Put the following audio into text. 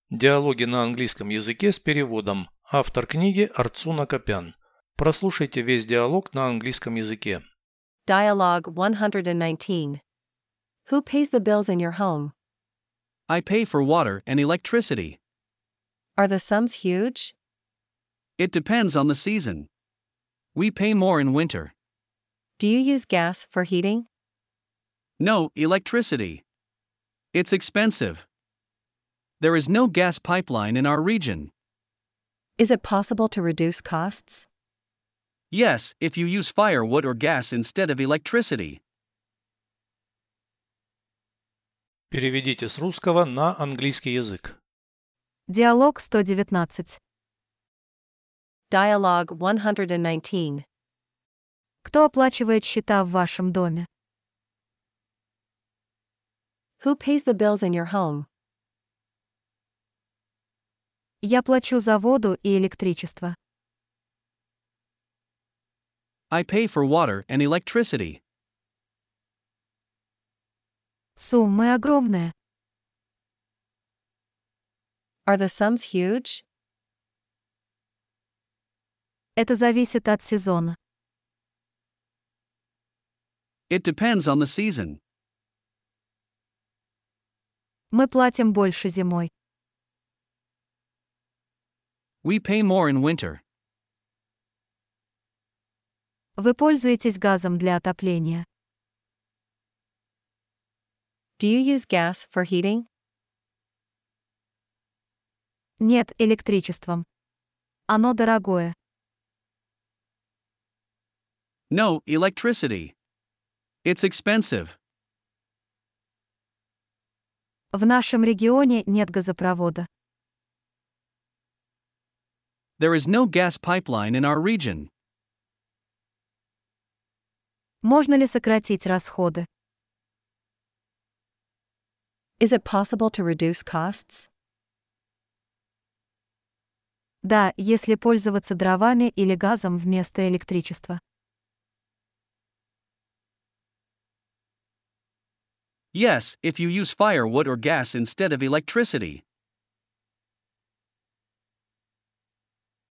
Диалоги на английском языке с переводом. Автор книги Арцуна Копян. Прослушайте весь диалог на английском языке. Dialogue 119. Who pays the bills in your home? I pay for water and electricity. Are the sums huge? It depends on the season. We pay more in winter. Do you use gas for heating? No, electricity. It's expensive. There is no gas pipeline in our region. Is it possible to reduce costs? Yes, if you use firewood or gas instead of electricity. Переведите с русского на английский язык. Диалог 119. Dialogue 119. Кто оплачивает счета в вашем доме? Who pays the bills in your home? Я плачу за воду и электричество. I pay for water and electricity. Суммы огромные. Are the sums huge? Это зависит от сезона. It depends on the season. Мы платим больше зимой. We pay more in winter. Вы пользуетесь газом для отопления. Do you use gas for heating? Нет, электричеством. Оно дорогое. No, electricity. It's expensive. В нашем регионе нет газопровода. There is no gas pipeline in our region. Можно ли сократить расходы? Is it possible to reduce costs? Да, если пользоваться дровами или газом вместо электричества. Yes, if you use firewood or gas instead of electricity.